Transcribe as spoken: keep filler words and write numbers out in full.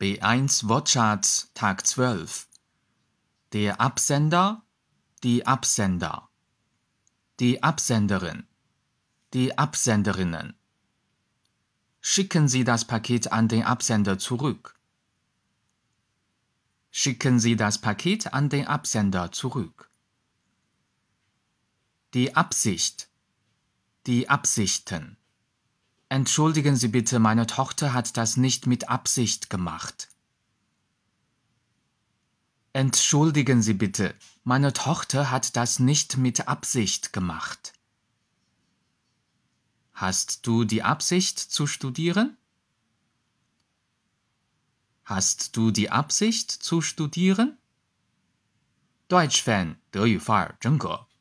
B eins Wortschatz Tag zwölf. Der Absender, die Absender. Die Absenderin, die Absenderinnen. Schicken Sie das Paket an den Absender zurück. Schicken Sie das Paket an den Absender zurück. Die Absicht, die Absichten. Entschuldigen Sie bitte, meine Tochter hat das nicht mit Absicht gemacht. Entschuldigen Sie bitte, meine Tochter hat das nicht mit Absicht gemacht. Hast du die Absicht zu studieren? Hast du die Absicht zu studieren? Deutsch Fan， 德语范儿真格。